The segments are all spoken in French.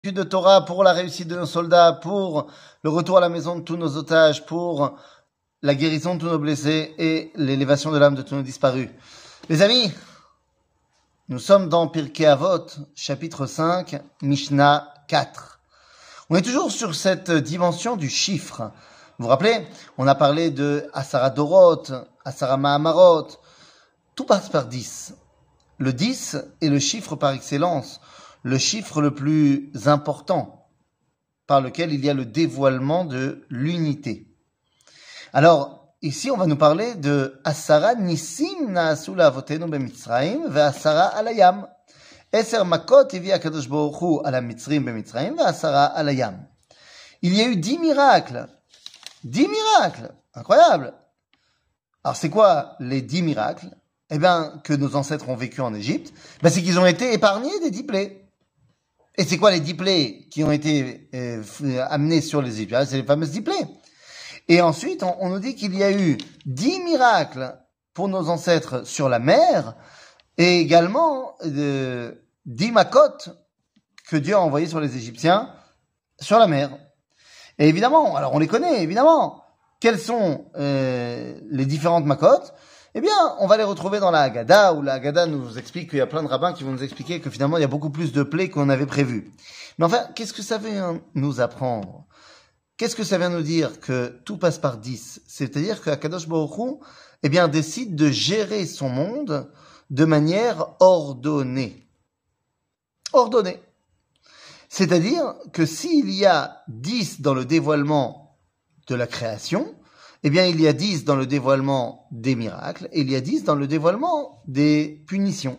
de Torah, pour la réussite de nos soldats, pour le retour à la maison de tous nos otages, pour la guérison de tous nos blessés et l'élévation de l'âme de tous nos disparus. Les amis, nous sommes dans Pirkei Avot, chapitre 5, Mishnah 4. On est toujours sur cette dimension du chiffre. Vous vous rappelez, on a parlé de Asara Dorot, Asara Mahamarot. Tout passe par 10. Le 10 est le chiffre par excellence, le chiffre le plus important, par lequel il y a le dévoilement de l'unité. Alors, ici, on va nous parler de Asara Nisim Naasu La'avotenu B'Mitzrayim ve'Asara Alayam. Eser Makot Evi HaKadosh Baruch Hu ala Mitzrim B'Mitzrayim ve'Asara Alayam. Il y a eu 10 miracles. 10 miracles. Incroyable. Alors, c'est quoi les 10 miracles? Eh bien, que nos ancêtres ont vécu en Égypte, c'est qu'ils ont été épargnés des 10 plaies. Et c'est quoi les 10 plaies qui ont été amenées sur les Égyptiens? C'est les fameuses 10 plaies. Et ensuite, on nous dit qu'il y a eu 10 miracles pour nos ancêtres sur la mer, et également 10 makotes que Dieu a envoyées sur les Égyptiens sur la mer. Et évidemment, alors on les connaît, évidemment. Quelles sont les différentes makotes? Eh bien, on va les retrouver dans la Haggadah, où la Haggadah nous explique qu'il y a plein de rabbins qui vont nous expliquer que finalement il y a beaucoup plus de plaies qu'on avait prévu. Mais enfin, qu'est-ce que ça vient nous apprendre? Qu'est-ce que ça vient nous dire que tout passe par 10? C'est-à-dire que Akadosh Baruch Hu, eh bien, décide de gérer son monde de manière ordonnée. Ordonnée. C'est-à-dire que s'il y a 10 dans le dévoilement de la création, eh bien, il y a 10 dans le dévoilement des miracles, et il y a 10 dans le dévoilement des punitions.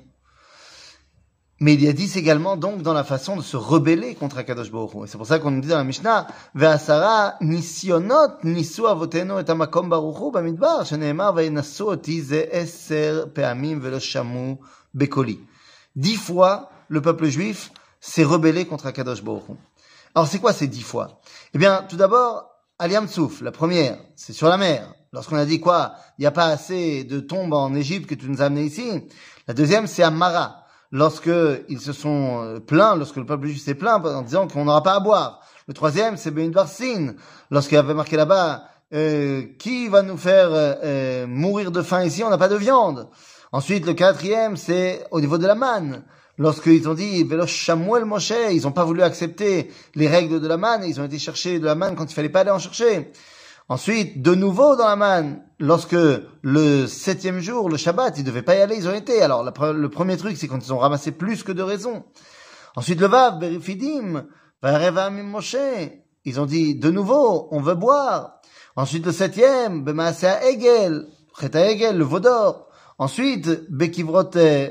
Mais il y a 10 également, donc, dans la façon de se rebeller contre Akadosh Baruch Hu. Et c'est pour ça qu'on nous dit dans la Mishnah, Ve'asara nisionot nisu avotenu et hamakom baruch hu bamidbar, sheneemar ve'inasu oti ze eser pe'amim ve'lo shamu bekoli. 10 fois, le peuple juif s'est rebellé contre Akadosh Baruch Hu. Alors, c'est quoi ces 10 fois? Eh bien, tout d'abord, Al-Yam Souf, la première, c'est sur la mer. Lorsqu'on a dit quoi? Il n'y a pas assez de tombes en Égypte que tu nous as amené ici. La deuxième, c'est à Mara. Lorsque ils se sont plaints, lorsque le peuple juif s'est plaint en disant qu'on n'aura pas à boire. Le troisième, c'est Be'indvar Sin. Lorsqu'il y avait marqué là-bas, qui va nous faire mourir de faim ici? On n'a pas de viande. Ensuite, le quatrième, c'est au niveau de la manne. Lorsqu'ils ont dit Velo Shamuel Moshe, ils n'ont pas voulu accepter les règles de la manne, ils ont été chercher de la manne quand il fallait pas aller en chercher. Ensuite, de nouveau dans la manne, lorsque le 7e jour, le Shabbat, ils devaient pas y aller, ils ont été. Alors, le premier truc, c'est quand ils ont ramassé plus que de raisons. Ensuite, le Vav, Berifidim, Varevam Moshe, ils ont dit, de nouveau, on veut boire. Ensuite, le 7e, Bemaasea Egel, Cheta Egel, le veau d'or. Ensuite, Bekivrot,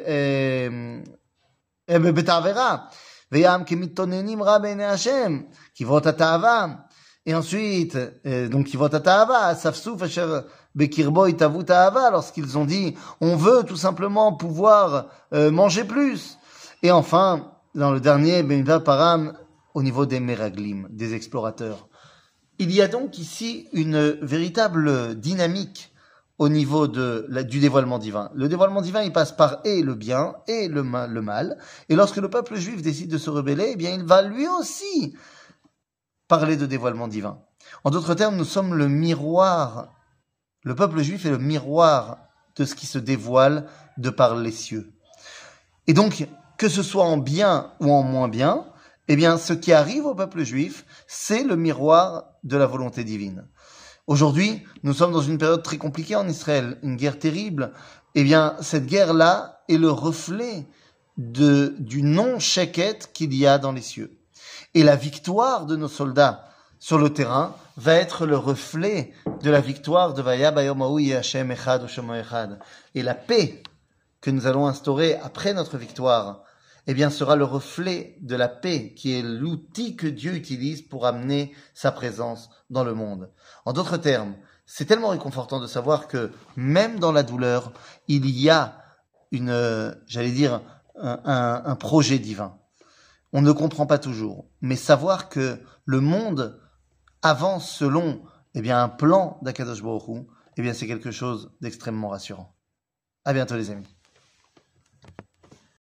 Betavera, Veyam Kemitonenim Ra Be'nei Hashem, Kivrot HaTa'ava. Et ensuite, donc Kivrot HaTa'ava, Safsouf Asher Bekirbo Itavu Ta'ava, lorsqu'ils ont dit, on veut tout simplement pouvoir manger plus. Et enfin, dans le dernier, Benva Param, au niveau des Meraglim, des explorateurs. Il y a donc ici une véritable dynamique au niveau du dévoilement divin. Le dévoilement divin, il passe par et le bien et le mal. Et lorsque le peuple juif décide de se rebeller, eh bien, il va lui aussi parler de dévoilement divin. En d'autres termes, nous sommes le miroir. Le peuple juif est le miroir de ce qui se dévoile de par les cieux. Et donc, que ce soit en bien ou en moins bien, eh bien, ce qui arrive au peuple juif, c'est le miroir de la volonté divine. Aujourd'hui, nous sommes dans une période très compliquée en Israël, une guerre terrible. Eh bien, cette guerre-là est le reflet du non-sheket qu'il y a dans les cieux. Et la victoire de nos soldats sur le terrain va être le reflet de la victoire de Vaya Bayom Hahu Yeh Hashem Echad U'Shemo Echad. Et la paix que nous allons instaurer après notre victoire, eh bien, sera le reflet de la paix qui est l'outil que Dieu utilise pour amener sa présence dans le monde. En d'autres termes, c'est tellement réconfortant de savoir que même dans la douleur, il y a un projet divin. On ne comprend pas toujours, mais savoir que le monde avance selon, un plan d'Akadosh Baruch Hu, c'est quelque chose d'extrêmement rassurant. À bientôt les amis.